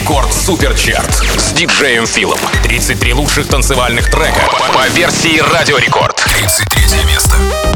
Рекорд Суперчарт с диджеем Филом. 33 лучших танцевальных трека по версии Радио Рекорд. 33 место.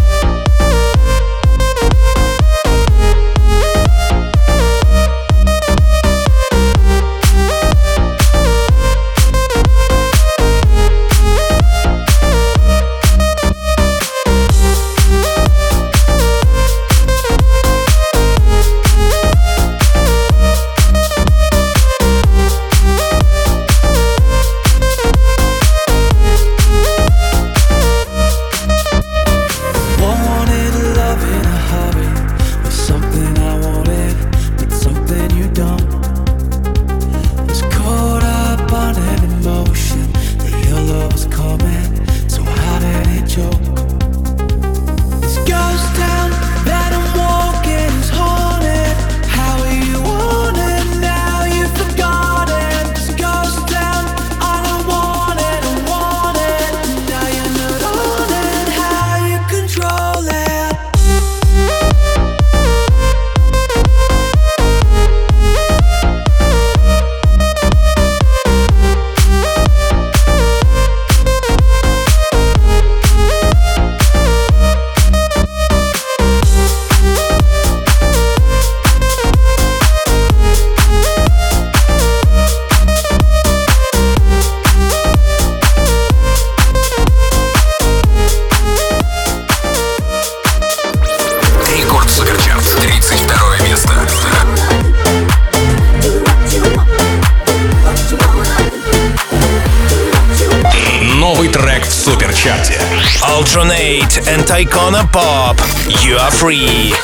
Altronate and Icona Pop. You are free.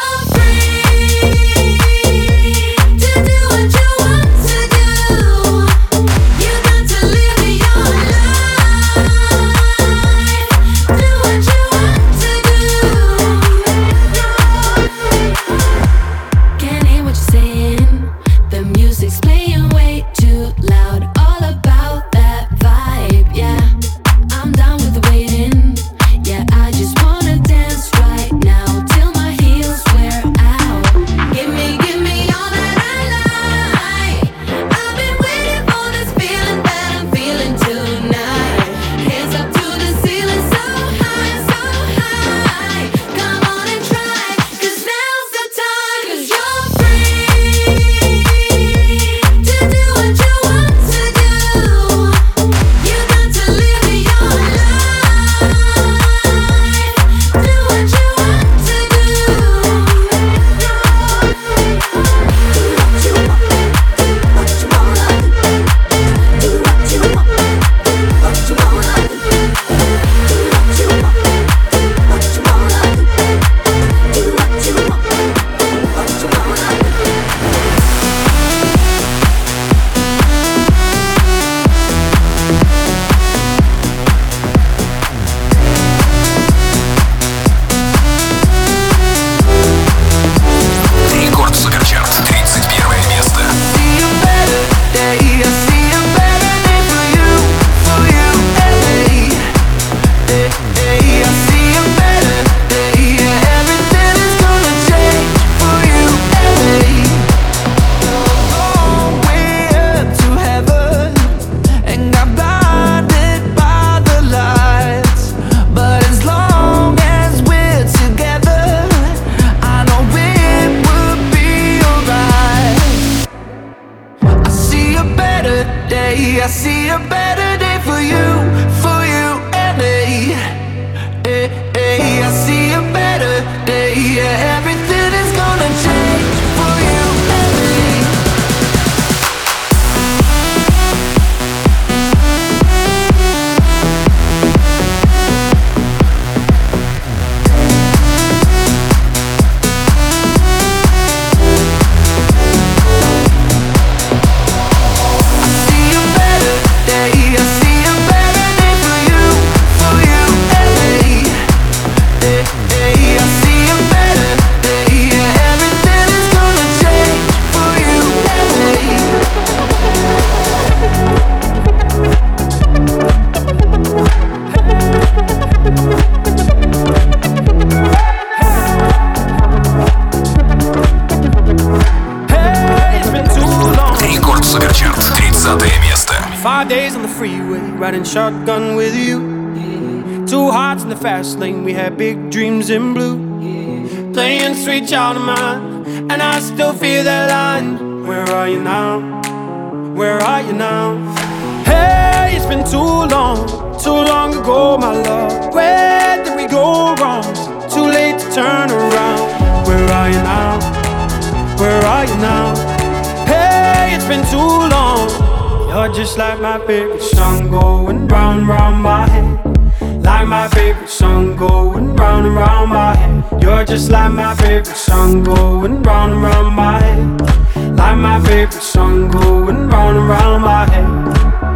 20 место. 5 days on the freeway, riding shotgun with you. Two hearts in the fast lane, we had big dreams in blue. Playing sweet child of mine, and I still feel that line. Where are you now? Where are you now? Hey, it's been too long ago, my love. Where did we go wrong? Too late to turn around. Where are you now? Where are you now? Hey, it's been too long. You're just like my favorite song going round and round my head. Like my favorite song going round and round my head. You're just like my favorite song going round and round my head. Like my favorite song going round and round my head.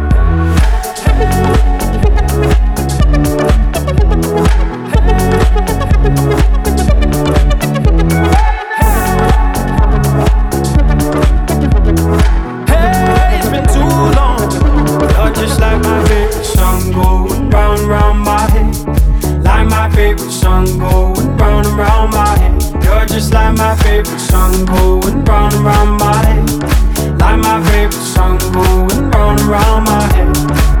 Hey, it's been too long. You're just like my favorite song going round and round my head. Like my favorite song going round and round my head. You're just like my favorite song going round and round my head. Like my favorite song going round and round my head.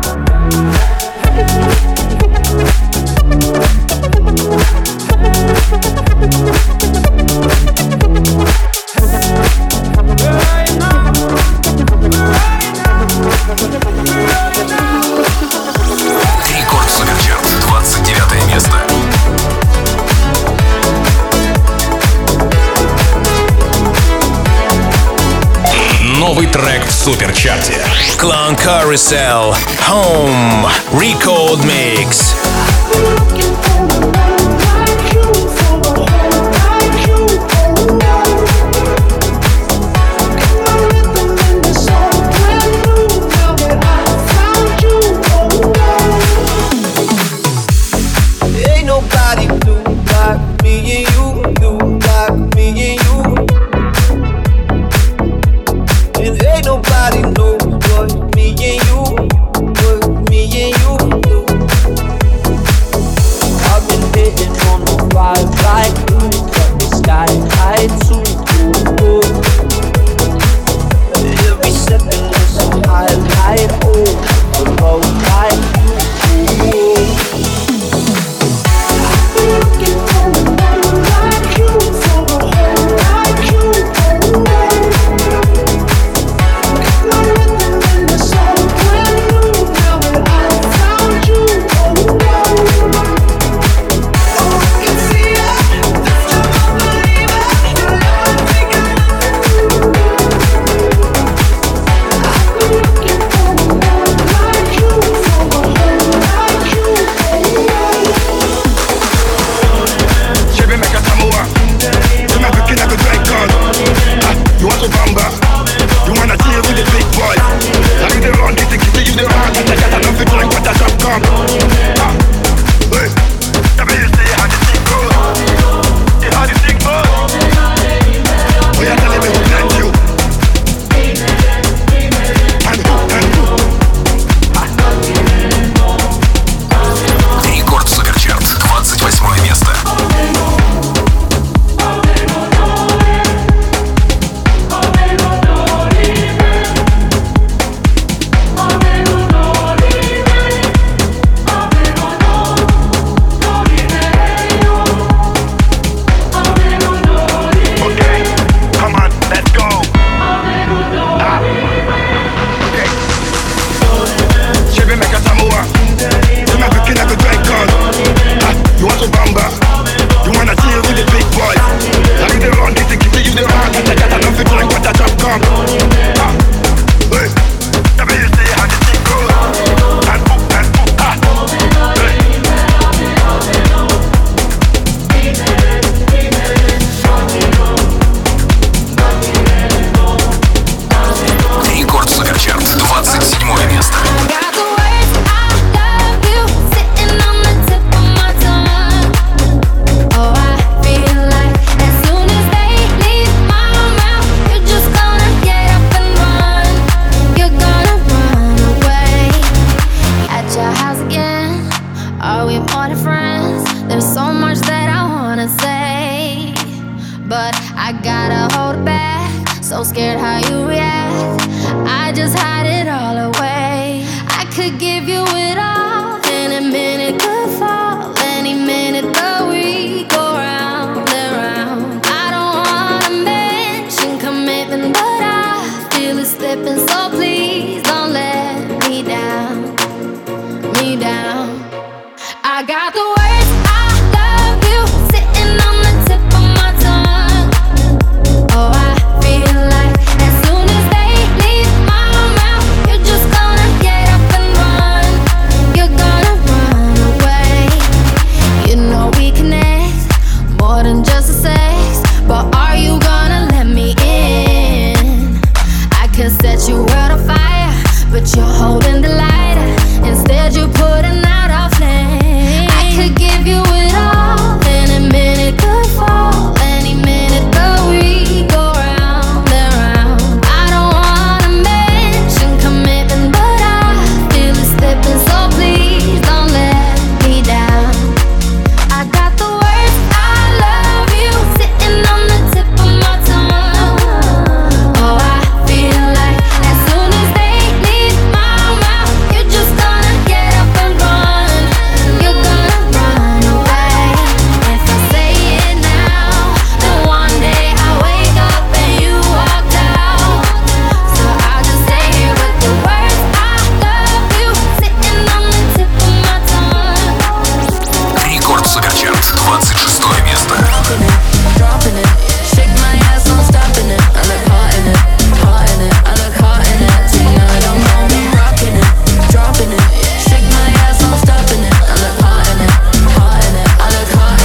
Рекорд Суперчарт, 29 место. Новый трек в Суперчарте. Clone Carousel, Home, Record Mix. Ain't nobody do like me and you, do like me and you. And ain't nobody know what me and you, what me and you do. I've been hitting on the ride like you, got the sky high too. Every second is a highlight, oh, a low like you. Like you, slipping, so please don't let me down, me down. I got the words I love you sitting on the tip of my tongue. Oh, I feel like as soon as they leave my mouth, you're just gonna get up and run. You're gonna run away. You know we connect more than just a sex, but are you gonna let me in? I could set your world on fire, but you're holding the lighter. Instead you're putting out a flame. I could give you it all, any minute could fall, any minute, but we go round and round. I don't wanna mention commitment, but I feel it slipping, so please don't let me down. I got the words I love you sitting on the tip of my tongue. Oh, I feel like as soon as they leave my mouth, you're just gonna get up and run. You're gonna run away. If I say it now, then one day I wake up and you walked out. So I'll just stay here with the words I love you sitting on the tip of my tongue. Рекорд Суперчарт, 26 место. Dropping it, shake my ass, no stopping it. I look hot in it, hot in it. I look hot in it. Tonight I'm gonna be rocking it, dropping it, shake my ass, no stopping it. I look hot in it, hot in it. I look hot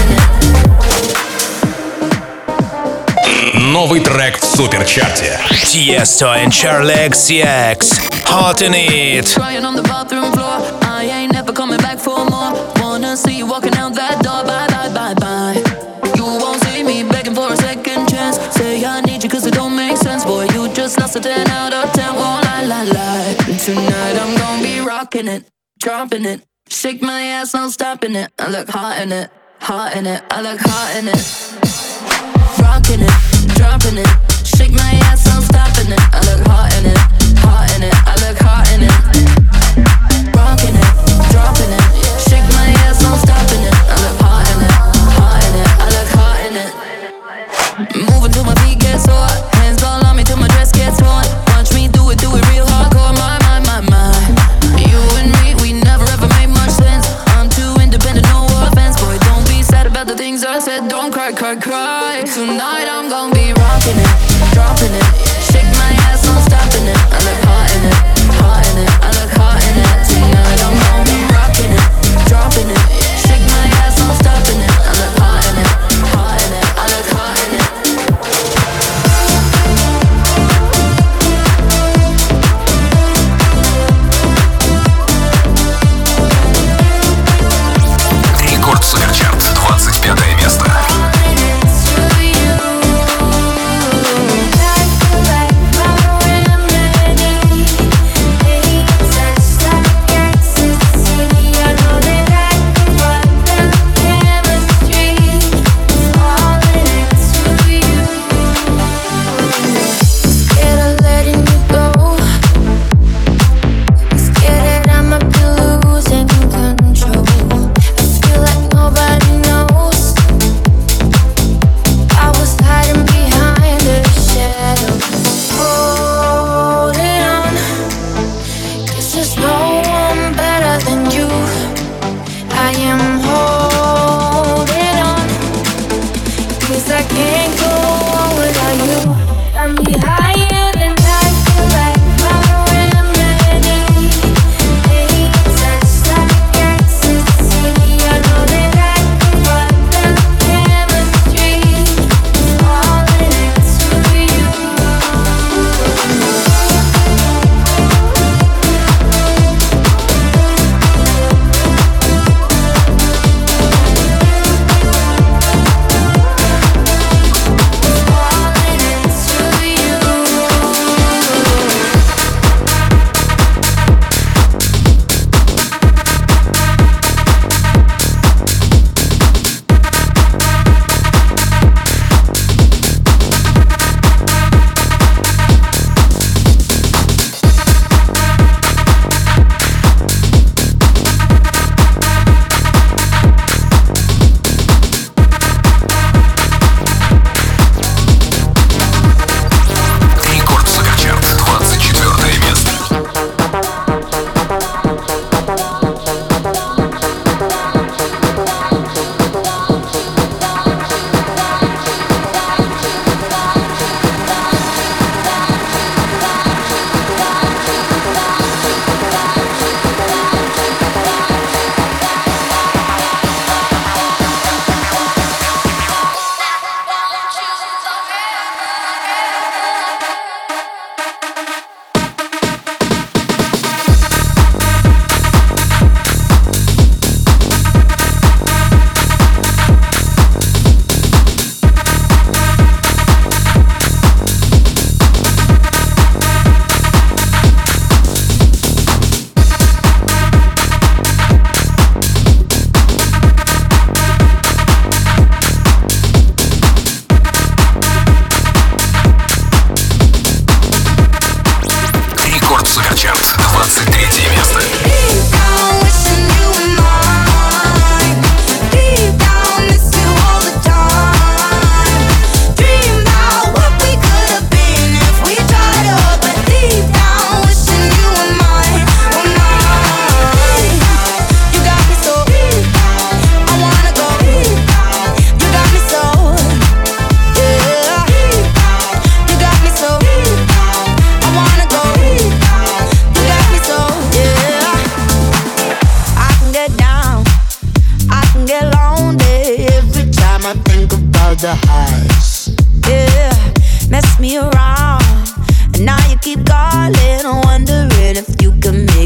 in it. Новый трек в Суперчарте. Tiesto and Charli XCX. Hot in it. Crying on the bathroom floor. I ain't never coming back for more. Wanna see you walking out that door. Bye, bye, bye, bye. You won't see me begging for a second chance. Say I need you cause it don't make sense. Boy, you just lost a 10 out of 10. Won't lie. Tonight I'm gonna be rocking it, dropping it. Shake my ass, no stopping it. I look hot in it, hot in it. I look hot in it. Rocking it, dropping it. Shake my ass, no stopping it. I look hot in it, hot in it. I look hot in it. Rocking it, dropping it. Shake my ass, no stopping it. I look hot in it, hot in it. I look hot in it. Moving till my feet get sore. Hands all on me till my dress gets torn. Watch me do it real hardcore. My. You and me, we never ever made much sense. I'm too independent, no offense. Boy, don't be sad about the things I said. Don't cry. Tonight I'm gonna be rocking it, dropping it. Shake my ass, no stopping it. I look hot in it, hot in it. I look hot in it. Tonight I'm gonna be rocking it, dropping it. Shake my ass, no stopping it. I look hot in it, hot in it. I look hot in it. Рекорд Суперчарт, 25 место.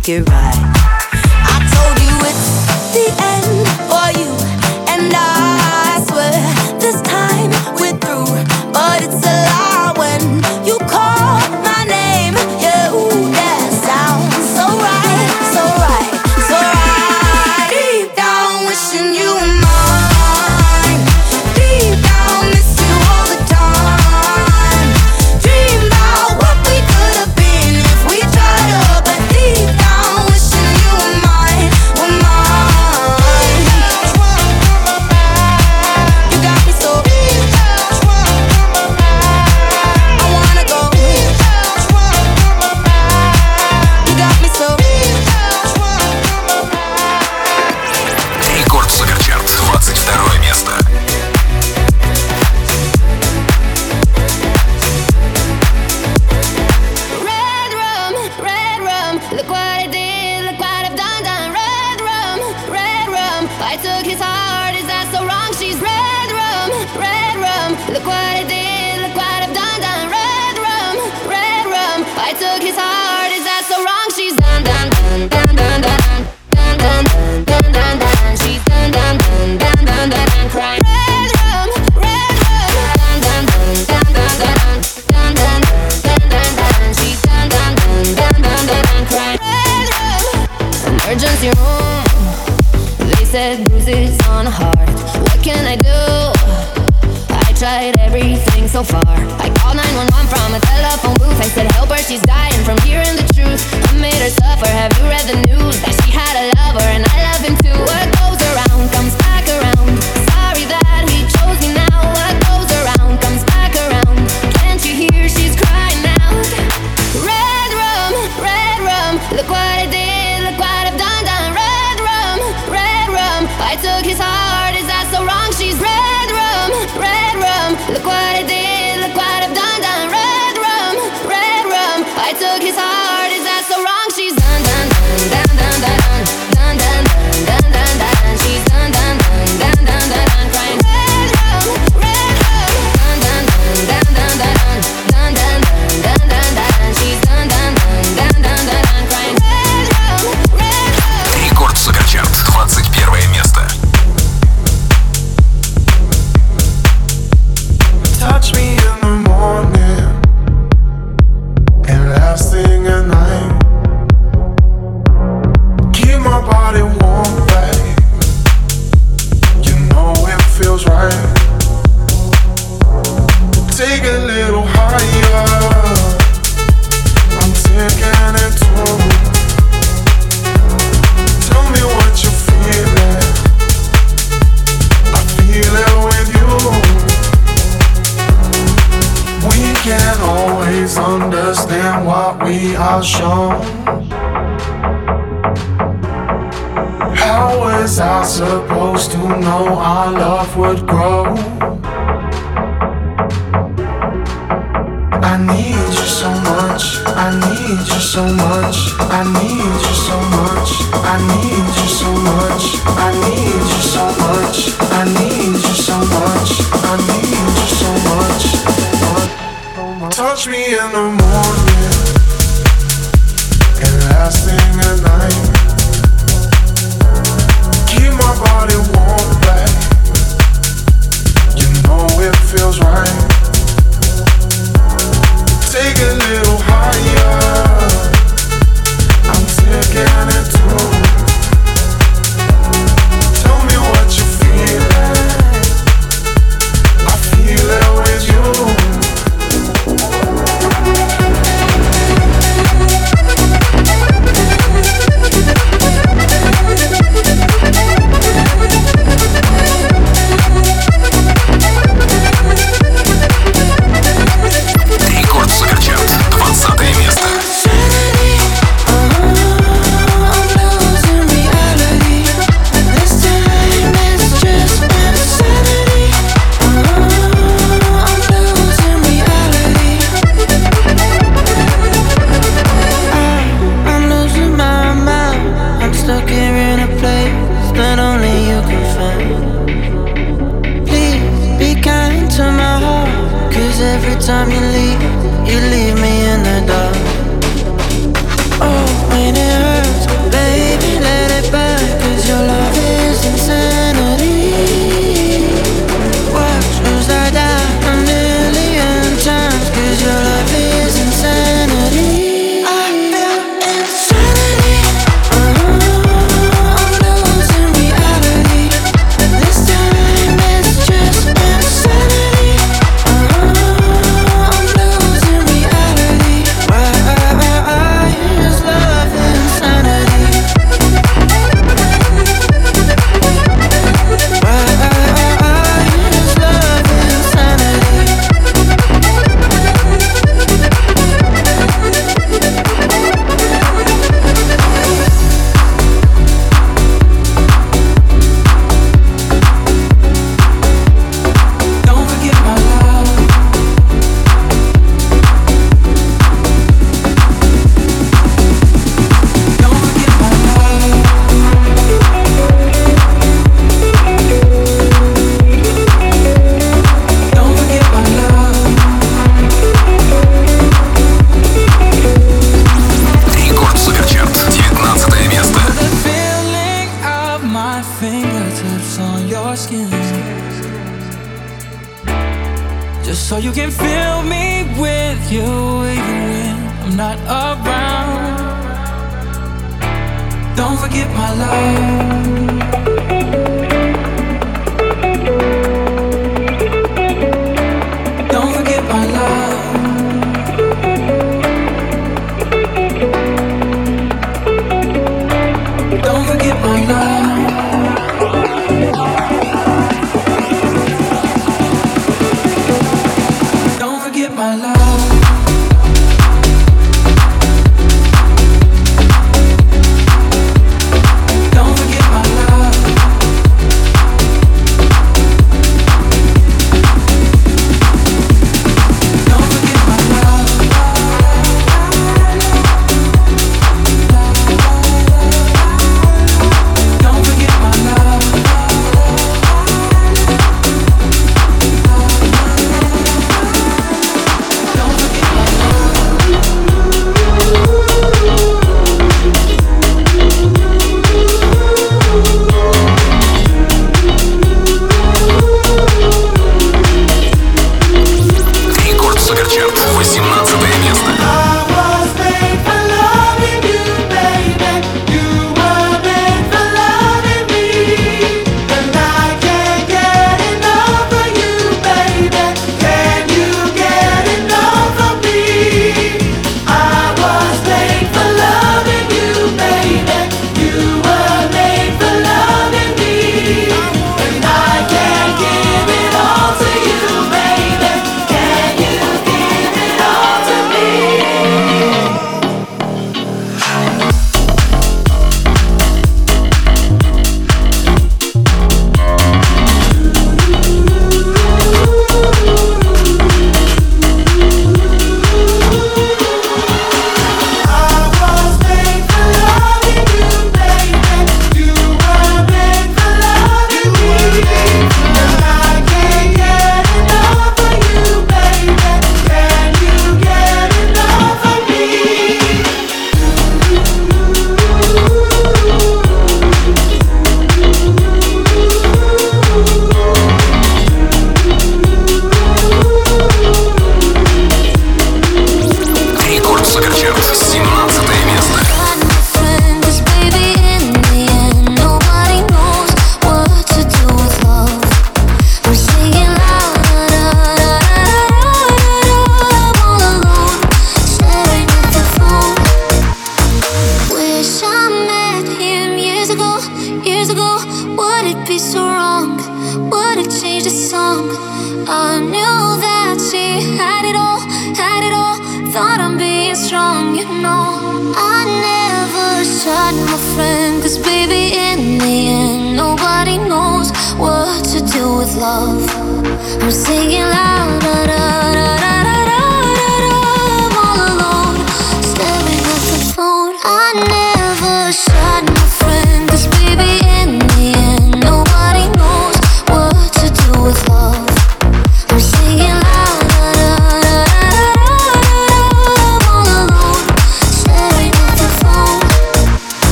make it right. I told you it's the end for you and I swear this time we're through, but it's a lie when you call my name. Yeah, ooh, that sounds so right, so right, so right. Deep down wishing you were mine. Deep down miss you all the time. Dream about what we could have been if we tried up. But deep down wishing you were mine, were mine. You got me so I wanna go. You got me so Рекорд Суперчарт, 22 место. Red rum, look what I did, look what I've done. Red rum, I took his heart, is that so wrong? She's red rum, look what I did, look what I've done. Red rum, I took his heart, is that so wrong? She's done, done, done, done, done, done, done, done, done, done, done. She's done, done, done, done, done, done, crying. Red rum, done, done, done, done, done, done, done, done, done, done, done. She's done, done, done, done, done, done, crying. Red rum, emergency room. They said bruises on the heart. What can I do? I tried everything so far. I called 911 from a telephone booth. I said help her, she's dying from hearing the truth. I made her suffer, have you read the news? That she had a lover and I love him too. What goes around comes back around. Sorry that he chose me now. What goes around comes back around. Can't you hear she's crying out? Red rum, look what I did, look what I've done. Red rum, I took his heart, is that so wrong? She's red rum, look what I did, look what I've done. Red rum, I took his heart, is that so wrong? She's done, done, done, done, done, done, done, done, done, done, done. She's done, done, done, done, done, done, crying. Red rum, done, done, done, done, done, done, done, done, done, done. She's done, done, done, done, done, done, crying. Red rum. Рекорд Суперчарт, 21 место. Touch me in the morning and last thing at night. Keep my body warm, babe. You know it feels right. Take a little higher. I'm taking it too. Tell me what you're feeling. I feel it with you. We can't always understand what we are shown. How was I supposed to know our love would grow? I need you so much, I need you so much, I need you so much, I need you so much, I need you so much, I need you so much, I need you so much. Touch me in the morning and last thing at night. Keep my body warm, babe. You know it feels right. Take a little higher. I'm taking it too. Tell me what you're feeling. I feel it with you. You can fill me with you even when I'm not around. Don't forget my love. Don't forget my love. Don't forget my love. Don't forget my love.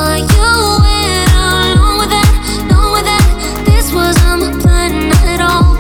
At all.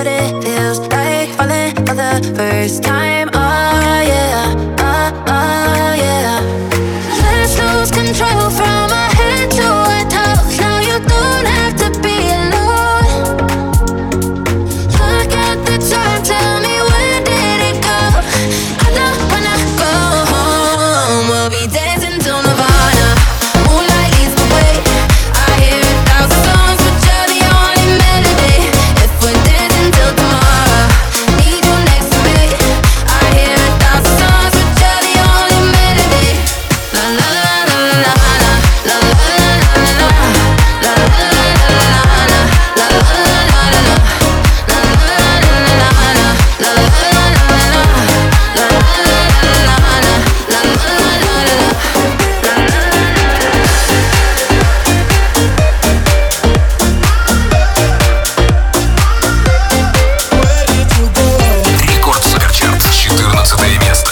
that it feels like falling for the first time. Oh yeah, oh yeah. Let's lose control from our head to our toes. Now you don't have to be alone. Look at the time, tell me when did it go? I don't wanna go home. We'll be dancing till Nirvana. Moonlight leads the way. I hear 1,000 songs, but you're the only melody. If we're dancing till tomorrow, need you next to me. I hear 1,000 songs, but you're the only melody. La la la la la la la la la la la la la la la. Рекорд Суперчарт, 14 место.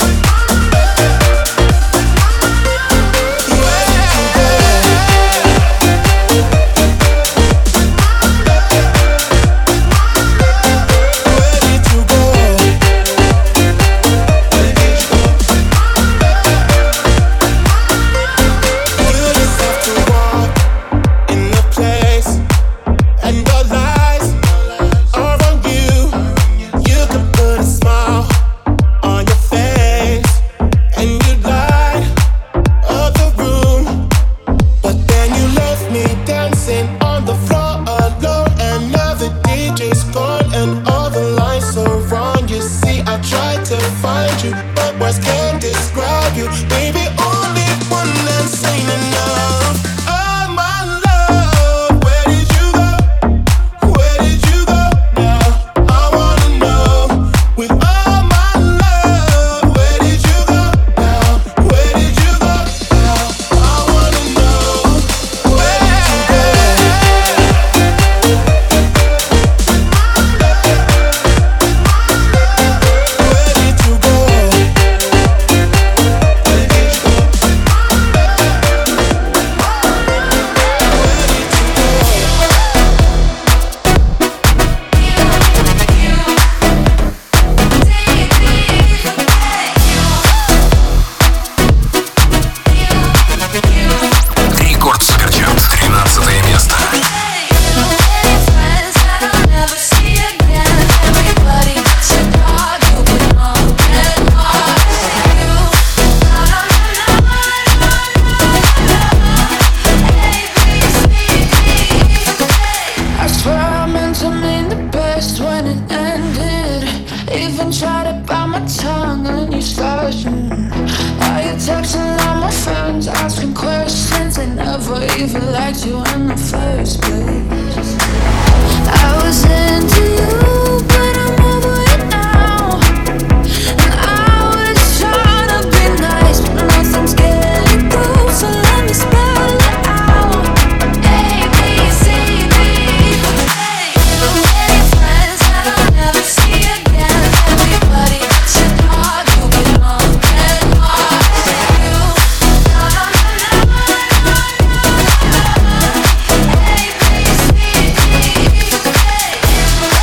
Рекорд Суперчарт, 13 место. I swear I meant to mean the best when it ended. Even tried to bite my tongue and you started. Why you texting all my friends, asking questions? They never even liked you in the first place. I was into you, but I'm over it now. And I was trying to be nice, but nothing's getting through. So let me spell it out. A, B, C, D. Any friends that I'll never see again. Everybody that's your dog, you belong in Mars. You, no, no, no, no, no, no. A, B, C, D.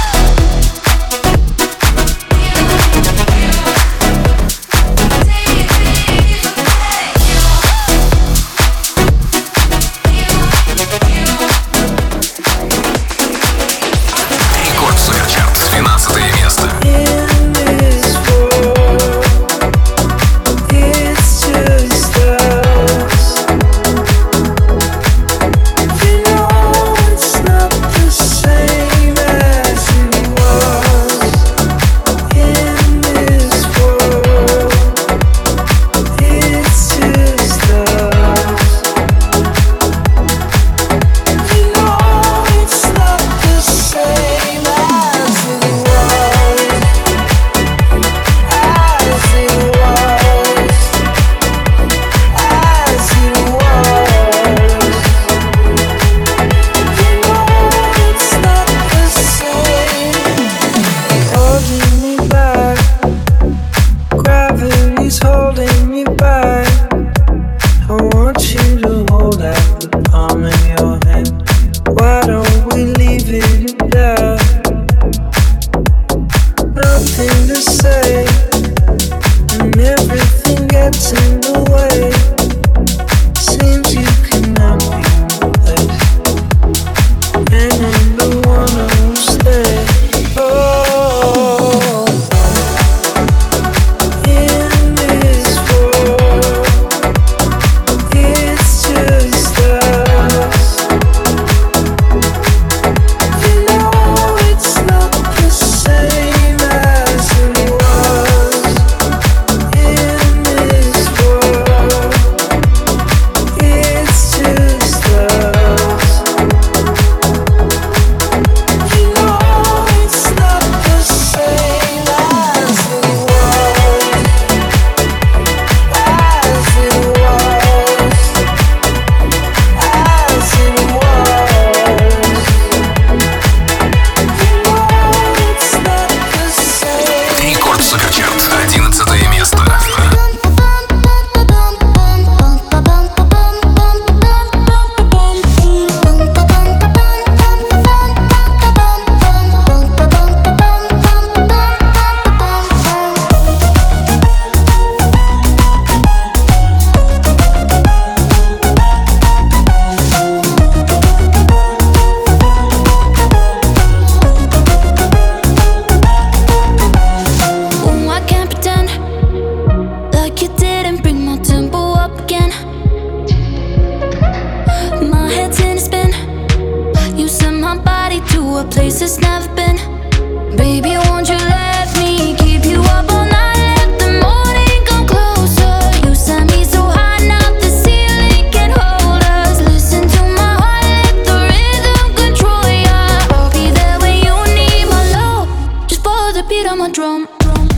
my drum.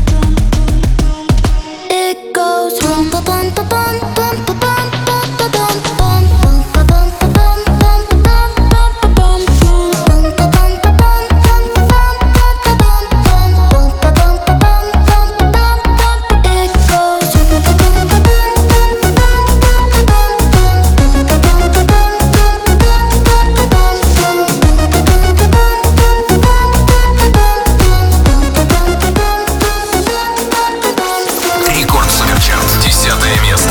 It goes rum pa bum pa bum bum pa bum bum pa bum bum bum pa bum pa bum bum pa bum bum pa bum bum pa bum pa bum bum pa bum pa bum bum pa bum pa bum bum pa bum bum. It goes rum pa bum pa bum bum pa bum bum pa bum pa bum pa bum bum pa bum Рекорд Суперчарт, 10 место.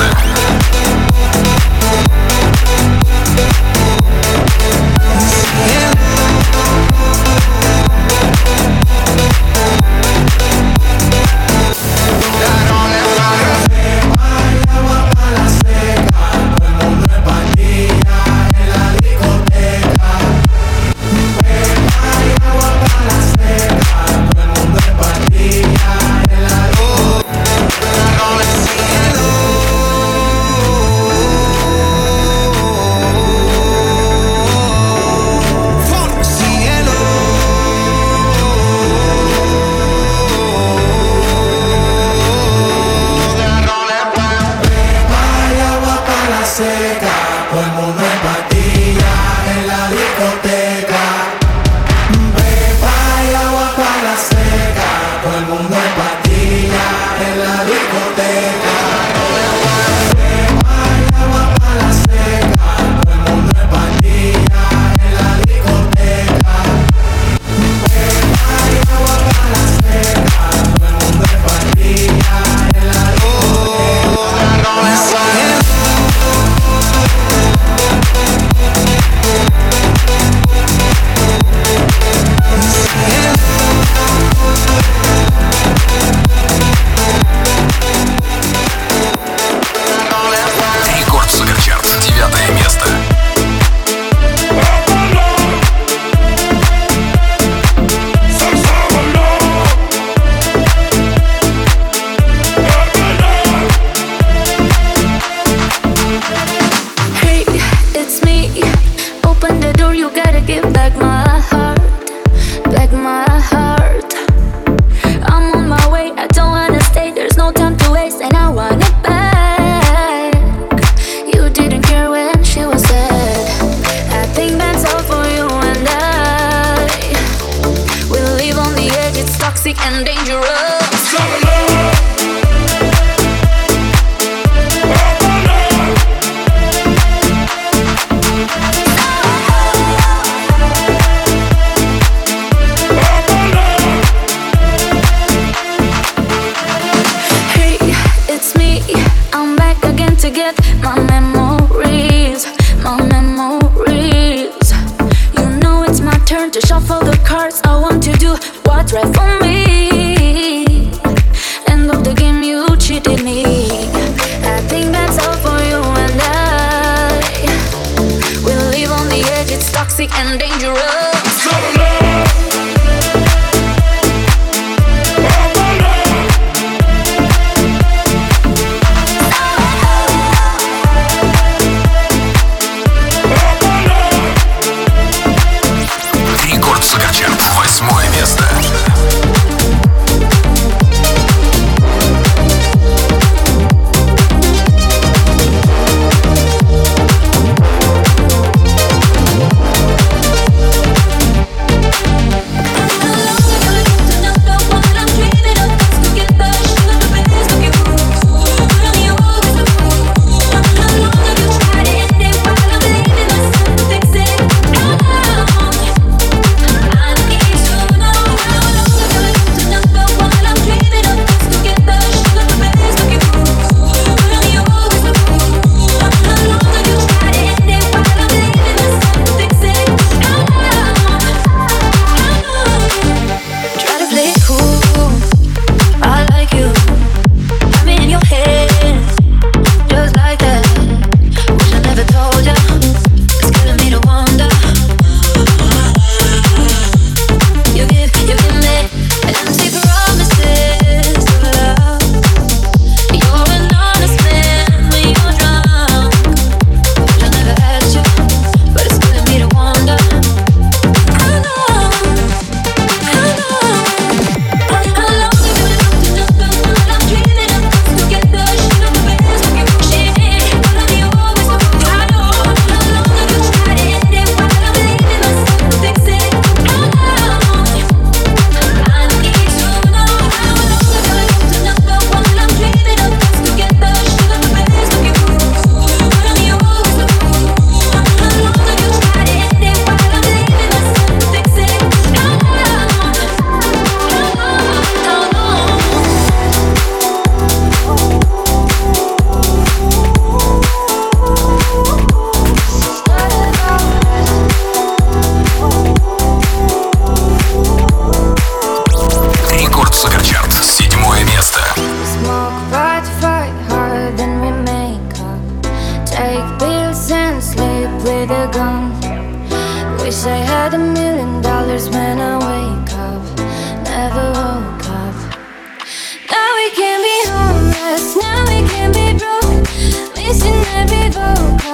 Рекорд Суперчарт, 9 место. Hey, it's me. Open the door, you gotta give back my heart. Back my heart. I'm on my way, I don't wanna stay. There's no time to waste, and I want it back. You didn't care when she was sad. I think that's all for you and I. We live on the edge, it's toxic and dangerous. Hey, it's me. I'm back again to get my memories, my memories. You know it's my turn to shuffle the cards. I want to do what's right for me. End of the game, you cheated me. I think that's all for you and I. We live on the edge, it's toxic and dangerous. Рекорд Суперчарт, 8 место.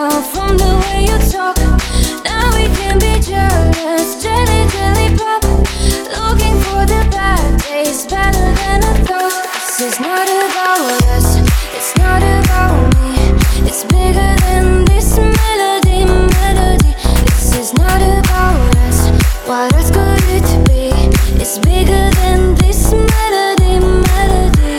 vocal from the way you talk. Now we can be jealous, jelly, jelly pop. Looking for the bad days, better than I thought. This is not about us, it's not about me. It's bigger than this melody, melody. This is not about us, what else could it be? It's bigger than this melody, melody.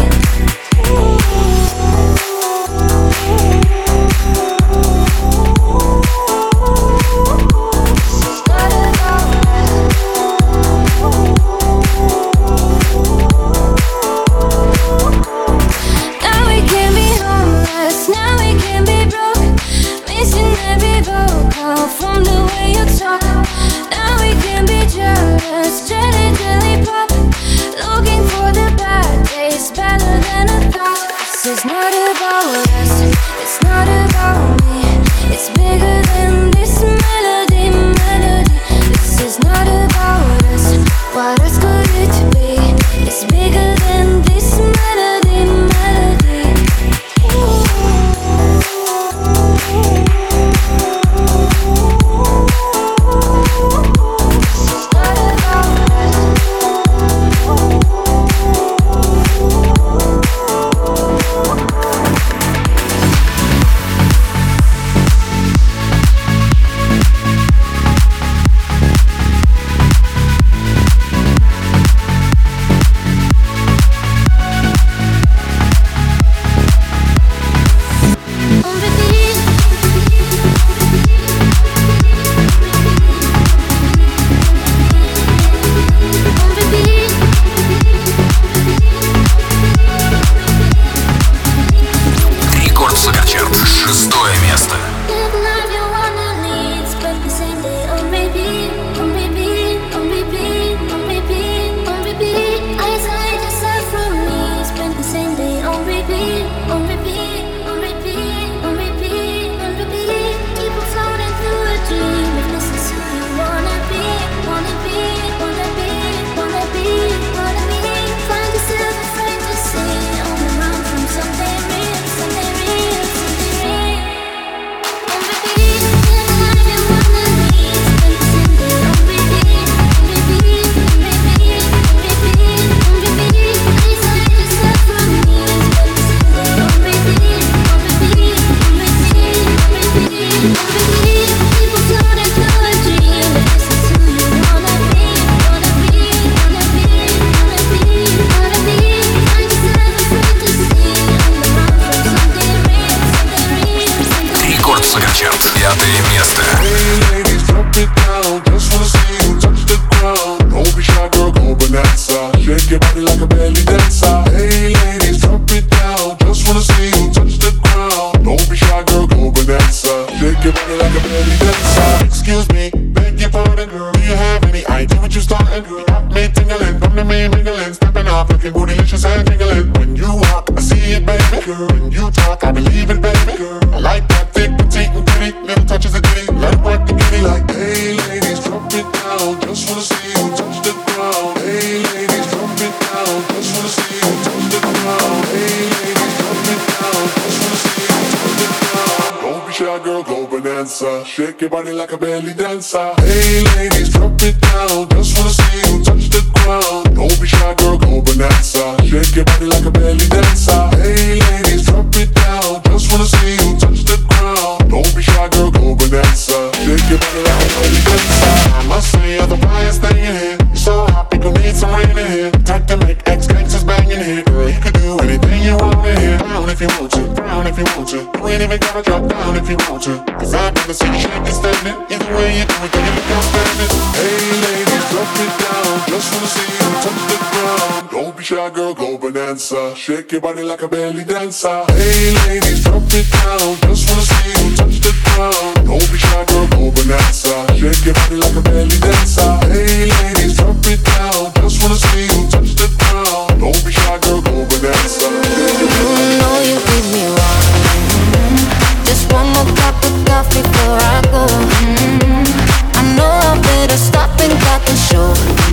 Now we can be homeless, now we can be broke. Missing every vocal from the way you talk. Now we can be jealous, jelly, jelly pop. Looking for the bad days, better than I thought. This is not about us, it's not about me. It's bigger than this melody, melody. This is not about us, what else could it be? It's bigger than this melody, melody. Рекорд Суперчарт, 6-е место. Рекорд Суперчарт, 5-е место. Hey ladies, drop it down. Just wanna see you touch the ground. Don't be shy, girl, go bonanza. Shake your body like a belly dancer. Hey ladies, drop it down. Just wanna see you touch the ground. Don't be shy, girl, go bonanza. Shake your body like a belly dancer. Excuse me, beg your pardon, girl. Do you have any idea what you're starting? Got me tingling, come to me mingling, stepping off, looking bootylicious and tingling. When you walk, I see it, baby. Girl, when you talk, I believe it, baby. Girl, I like that thick, petite, and pretty. Little touches of ditty, like what the kitty. Like, hey ladies, drop it down. Just wanna see you touch the ground. Hey ladies, drop it down. Just wanna see you touch the ground. Hey ladies, drop it down. Just wanna see you touch the ground. Don't be shy, girl, go bonanza. Shake your body like a belly dancer. Hey ladies, drop it down. Just wanna see you touch the ground. Don't be shy, girl, go bonanza. Shake your body like a belly dancer. Hey ladies, drop it down. Just wanna see you touch the ground. Don't be shy, girl, go bonanza. Shake your body like a belly dancer. I must say you're the brightest thing in here. You're so hot, we gon' need some rain in here. Time to make ex-gangsters bang in here. Girl, you could do anything you want in here. Down if you want to, down if you want to. You ain't even gotta drop down if you want to. Cause I'd rather see you shaking, standing. Either way you do it, girl, you look outstanding. Hey ladies, drop it down. Just wanna see you touch the ground. Don't be shy, girl, go bonanza. Shake your body like a belly dancer. Hey ladies, drop it down. Just wanna see you touch the ground. Don't be shy, girl, go bonanza. Shake your body like a belly dancer. Hey ladies, drop it down. Just wanna see you touch the ground. Don't be shy, girl, go bonanza. You know you did me wrong. Just one more cup of coffee before I go. I know I better stop and cut the show.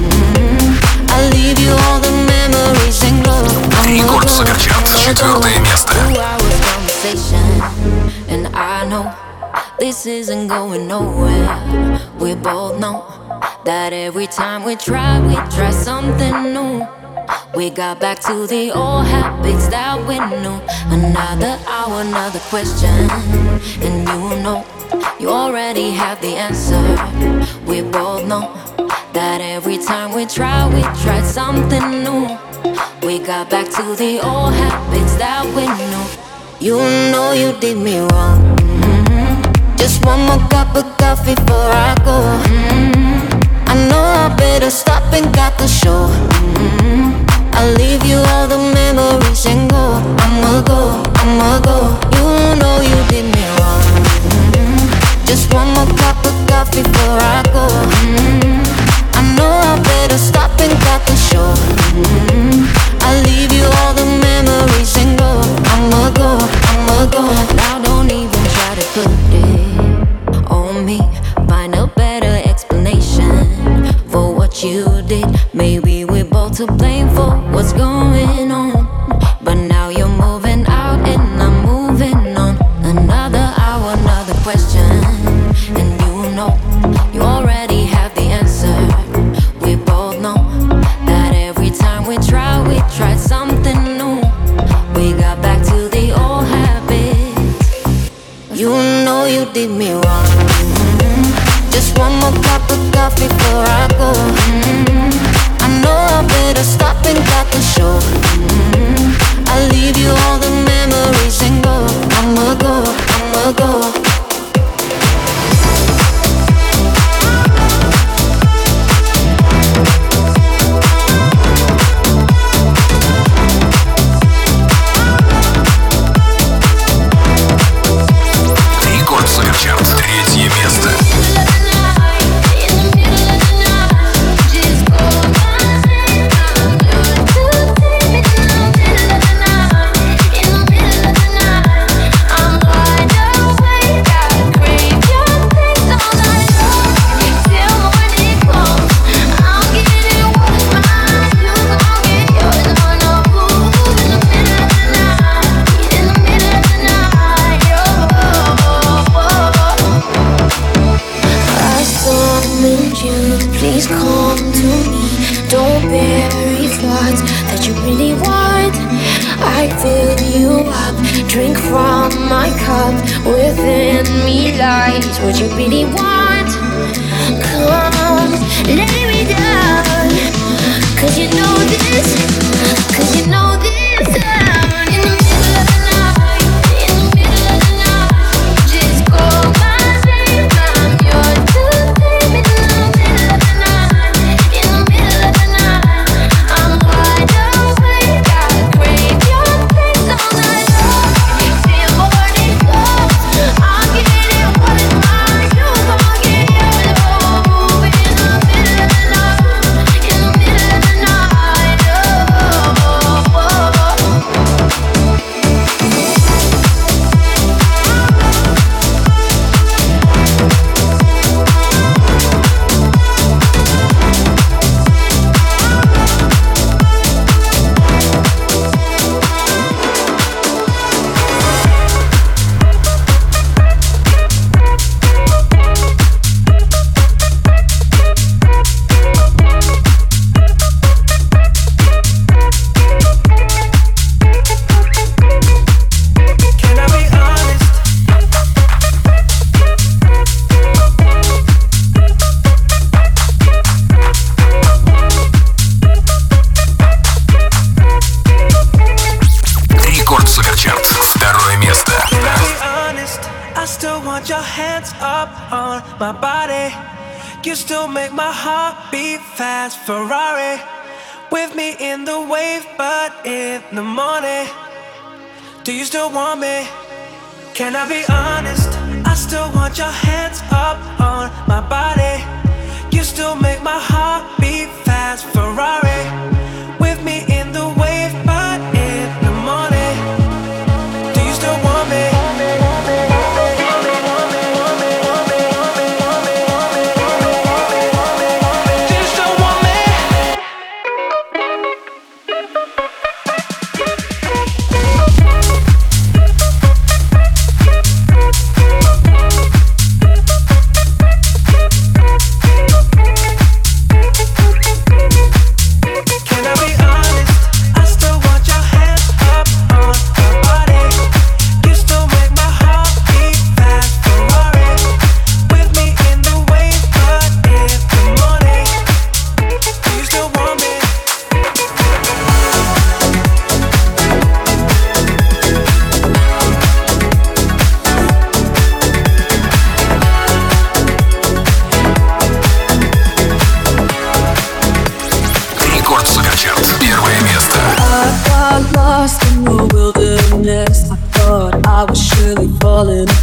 I'll leave you all the memories and glow. Рекорд Суперчарт, 4-е место. And I know this isn't going nowhere. We both know that every time we try something new. We got back to the old habits that we knew. Another hour, another question, and you know you already have the answer. We both know that every time we tried something new. We got back to the old habits that we knew. You know you did me wrong. Just one more cup of coffee before I go. I know I better stop and got the show. I'll leave you all the memories and go. I'ma go. You know you did me wrong. Just one more cup of coffee before I go. I know I better stop and got the show. I'll leave you all the memories and go. I'ma go. Now don't even try to put it on me. Find a better explanation for what you did. Maybe we're both to blame for what's going on. But now you're moving out and I'm moving on. Another hour, another question, and you know you already have the answer. We both know that every time we tried something new. We got back to the old habits. You know you did me wrong. Just one more cup of coffee before I go. I know I better stop and got the show. I'll leave you all the memories and go. I'ma go. Рекорд Суперчарт, 3 место. Please come to me. Don't bury thoughts that you really want. I fill you up, drink from my cup. Within me lies what you really want. Come, lay me down. 'Cause you know this. In the middle of the night, just call my name. I'm yours to take me to the middle of the night. In the middle of the night, I'm wide awake. I crave your face all night long. Till morning comes, I'll get it what is mine. You gon' get yours. Oh, in the middle of the night, in the middle of the night. Рекорд Суперчарт, 2 место. Can I be honest? I still want your hands up on my body. You still make my heart beat fast. Ferrari with me in the wave, but in the morning. Do you still want me? Can I be honest? I still want your hands up on my body. You still make my heart beat fast. Ferrari with me in the wave, but in the morning. Do you still want me? Do you still want me? got lost in the wilderness. I thought I was surely falling